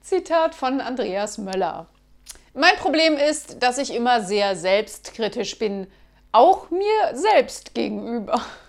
Zitat von Andreas Möller. Mein Problem ist, dass ich immer sehr selbstkritisch bin, auch mir selbst gegenüber.